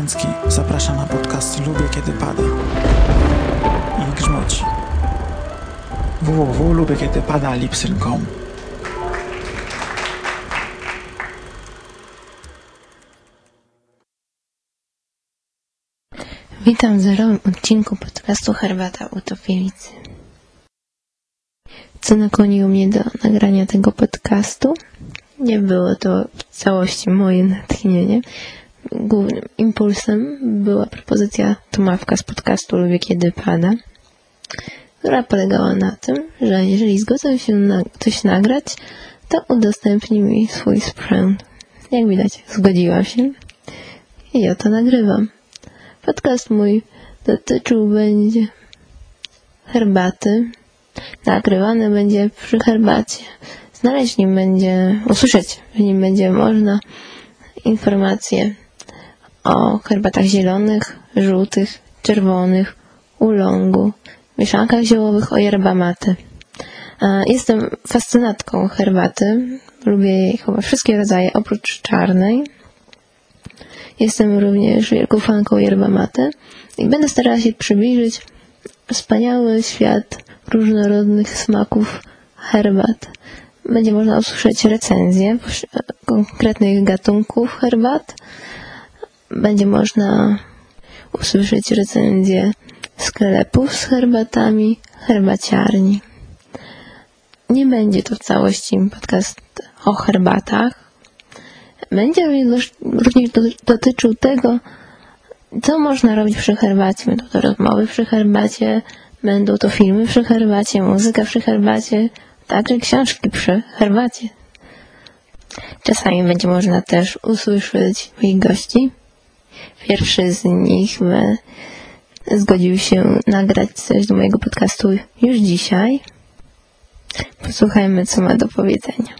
Zachęcki zaprasza na podcast Lubię Kiedy Pada i grzmoci. www.lubiekiedypada.lipsyn.com. Witam w zerowym odcinku podcastu Herbata Utopielicy. Co nakłoniło mnie do nagrania tego podcastu? Nie było to w całości moje natchnienie. Głównym impulsem była propozycja Tomawka z podcastu Lubię Kiedy Pada, która polegała na tym, że jeżeli zgodzę się na coś nagrać, to udostępni mi swój sprzęt. Jak widać, zgodziłam się i ja to nagrywam. Podcast mój dotyczył będzie herbaty. Nagrywany będzie przy herbacie. Usłyszeć w nim będzie można informacje o herbatach zielonych, żółtych, czerwonych, oolongu, mieszankach ziołowych, o yerba mate. Jestem fascynatką herbaty. Lubię jej chyba wszystkie rodzaje oprócz czarnej. Jestem również wielką fanką yerba mate i będę starała się przybliżyć wspaniały świat różnorodnych smaków herbat. Będzie można usłyszeć recenzje konkretnych gatunków herbat. Będzie można usłyszeć recenzje sklepów z herbatami, herbaciarni. Nie będzie to w całości podcast o herbatach. Będzie również dotyczył tego, co można robić przy herbacie. Będą to rozmowy przy herbacie, będą to filmy przy herbacie, muzyka przy herbacie, także książki przy herbacie. Czasami będzie można też usłyszeć moich gości. Pierwszy z nich zgodził się nagrać coś do mojego podcastu już dzisiaj. Posłuchajmy, co ma do powiedzenia.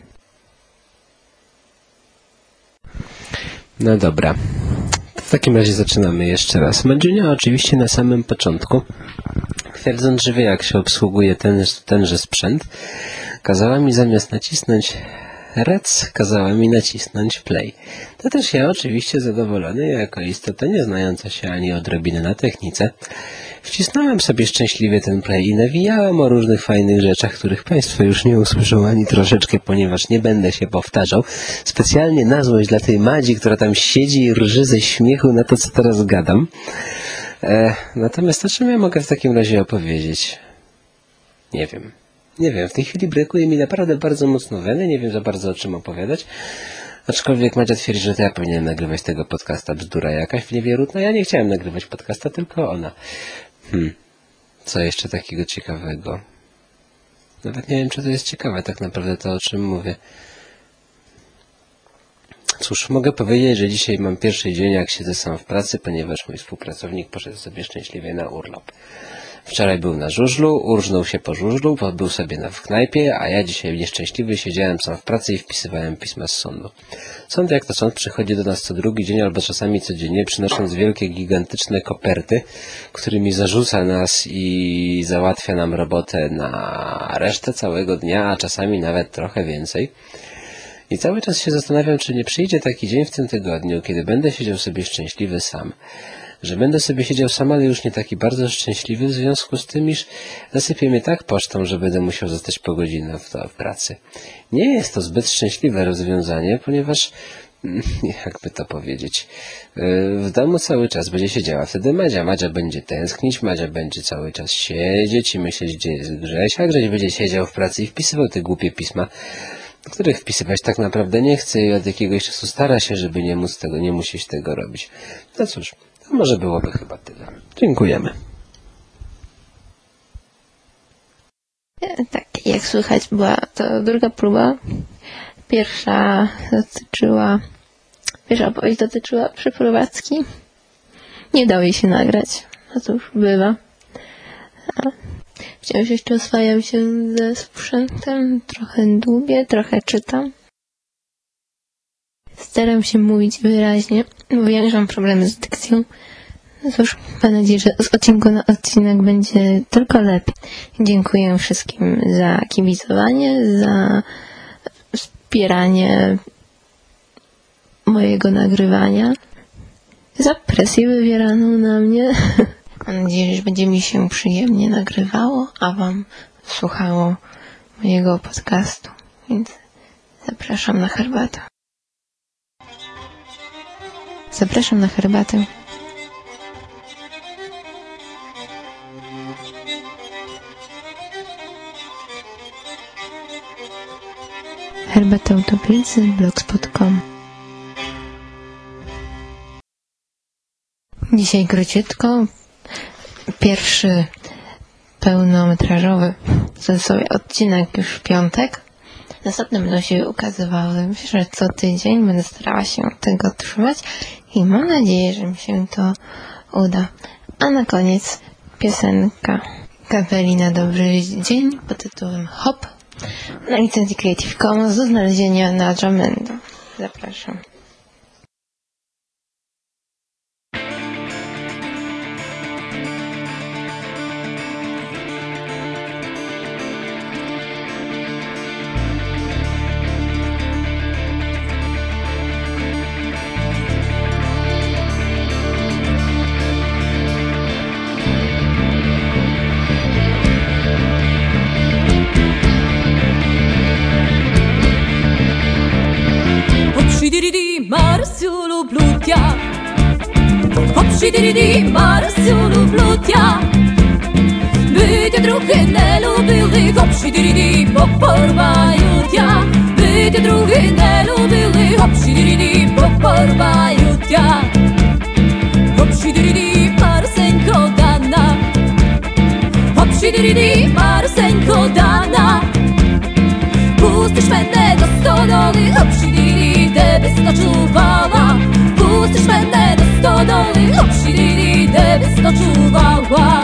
No dobra, w takim razie zaczynamy jeszcze raz. Mandziunia oczywiście na samym początku, twierdząc, że wie jak się obsługuje tenże sprzęt, kazała mi zamiast nacisnąć rec, kazała mi nacisnąć play. To też ja oczywiście zadowolony, jako istota nie znająca się ani odrobiny na technice, wcisnąłem sobie szczęśliwie ten play i nawijałem o różnych fajnych rzeczach, których Państwo już nie usłyszą ani troszeczkę, ponieważ nie będę się powtarzał. Specjalnie na złość dla tej Madzi, która tam siedzi i rży ze śmiechu na to, co teraz gadam. Natomiast o czym ja mogę w takim razie opowiedzieć? Nie wiem. W tej chwili brakuje mi naprawdę bardzo mocno weny, nie wiem za bardzo o czym opowiadać. Aczkolwiek Madzia twierdzi, że to ja powinienem nagrywać tego podcasta, bzdura jakaś niewierutna. Ja nie chciałem nagrywać podcasta, tylko ona. Co jeszcze takiego ciekawego? Nawet nie wiem, czy to jest ciekawe tak naprawdę to, o czym mówię. Cóż, mogę powiedzieć, że dzisiaj mam pierwszy dzień, jak siedzę sam w pracy, ponieważ mój współpracownik poszedł sobie szczęśliwie na urlop. Wczoraj był na żużlu, urżnął się po żużlu, był sobie w knajpie, a ja dzisiaj nieszczęśliwy siedziałem sam w pracy i wpisywałem pisma z sądu. Sąd jak to sąd przychodzi do nas co drugi dzień albo czasami codziennie, przynosząc wielkie, gigantyczne koperty, którymi zarzuca nas i załatwia nam robotę na resztę całego dnia, a czasami nawet trochę więcej. I cały czas się zastanawiam, czy nie przyjdzie taki dzień w tym tygodniu, kiedy będę siedział sobie szczęśliwy sam. Że będę sobie siedział sam, ale już nie taki bardzo szczęśliwy w związku z tym, iż zasypie mnie tak pocztą, że będę musiał zostać po godzinę w pracy. Nie jest to zbyt szczęśliwe rozwiązanie, ponieważ, jakby to powiedzieć, w domu cały czas będzie siedziała wtedy Madzia. Madzia będzie tęsknić, Madzia będzie cały czas siedzieć i myśleć, gdzie jest Grzesia. Grześ będzie siedział w pracy i wpisywał te głupie pisma, których wpisywać tak naprawdę nie chce i od jakiegoś czasu stara się, żeby nie musieć tego robić. No cóż, to może byłoby chyba tyle. Dziękujemy. Tak, jak słychać, była to druga próba. Pierwsza opowieść dotyczyła przeprowadzki. Nie dało jej się nagrać. A to już bywa. Wciąż jeszcze oswajam się ze sprzętem. Trochę dłubię, trochę czytam. Staram się mówić wyraźnie, bo wiem, że mam problemy z dykcją. No cóż, mam nadzieję, że z odcinku na odcinek będzie tylko lepiej. Dziękuję wszystkim za kibicowanie, za wspieranie mojego nagrywania. za presję wywieraną na mnie. Mam nadzieję, że będzie mi się przyjemnie nagrywało, a wam słuchało mojego podcastu. Więc zapraszam na herbatę. Zapraszam na herbatę. Herbata Utopijcy, blogspot.com. Dzisiaj króciutko. Pierwszy pełnometrażowy sobie odcinek już w piątek. Następne będą się ukazywały. Myślę, że co tydzień będę starała się tego trzymać i mam nadzieję, że mi się to uda. A na koniec piosenka kapeli Na Dobry Dzień pod tytułem Hop na licencji Creative Commons do znalezienia na Jamendo. Zapraszam. Marsiu lublю тя. Hop-ши-ди-ди-ди, Марсю люблю тя. Bycie drugie nie lubili, hop-ши-ди-ди-ди, poporwają tя. Bycie drugie nie lubili, hop-ши-ди-ди-ди, poporwają tя. Hop-ши-ди-ди-ди, Marseńko dana. Hop-ши-ди-ди-ди, Marseńko dana. Pustysz będę do stodoły, hop-ши-ди-ди-ди, byś noczuwała. Pustysz będę do stodoły, hop-ши-ди-ди-ди, byś noczuwała.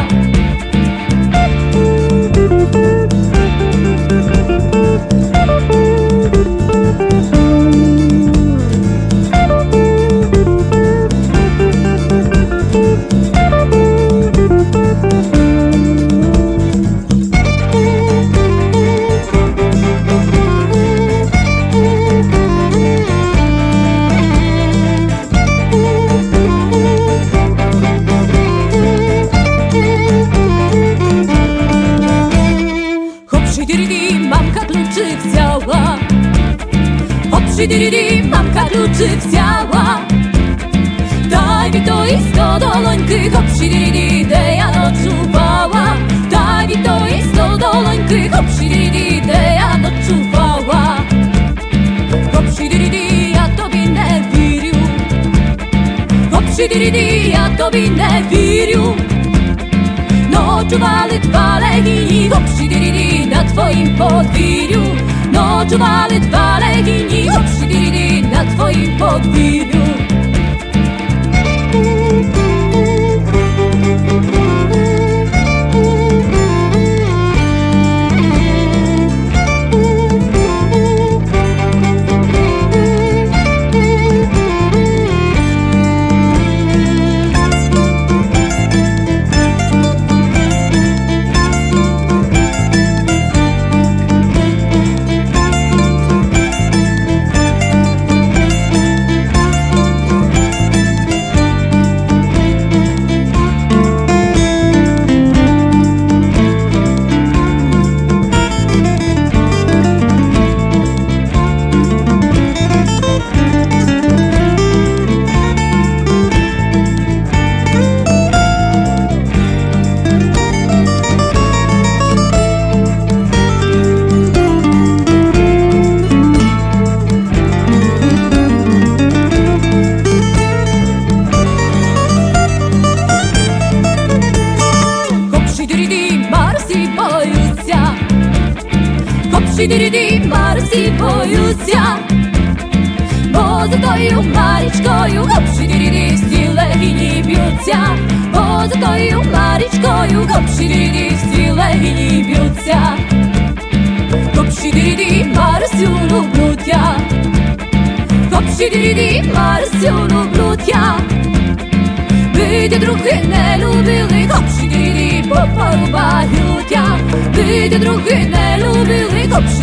Hop-ши-ди-ди-ди, mamka kluczyk wzięła. Daj mi to i 100 dolońki, hop-ши-ди-ди-ди, de ja noczuwała. Daj mi to i 100 dolońki, hop-ши-ди-ди-ди, de ja noczuwała. Hop-ши-ди-ди-ди, ja tobie nie wiriu. Hop-ши-ди-ди-ди, ja tobie nie wiriu. Noczuwali dwa legini, hop-ши-ди-ди-ди, na twoim podwiriu. Noczuwali dwa legini, hop-ши-ди-ди-ди, na twoim podwiriu. Hop-ши-ди-ди-ди, Марсі боються. Бо за тою Марічкою, hop-ши-ди-ди-ди, всі легені б'ються. Бо за тою Марічкою, hop-ши-ди-ди-ди, всі легені б'ються. Hop-ши-ди-ди-ди, Марсю люблю тя. Hop-ши-ди-ди-ди, Марсю люблю тя. Bycie drugie nie lubili, hop-ши-ди-ди-ди, poporwają tя. Bycie drugie nie lubili, hop-ши-ди-ди-ди,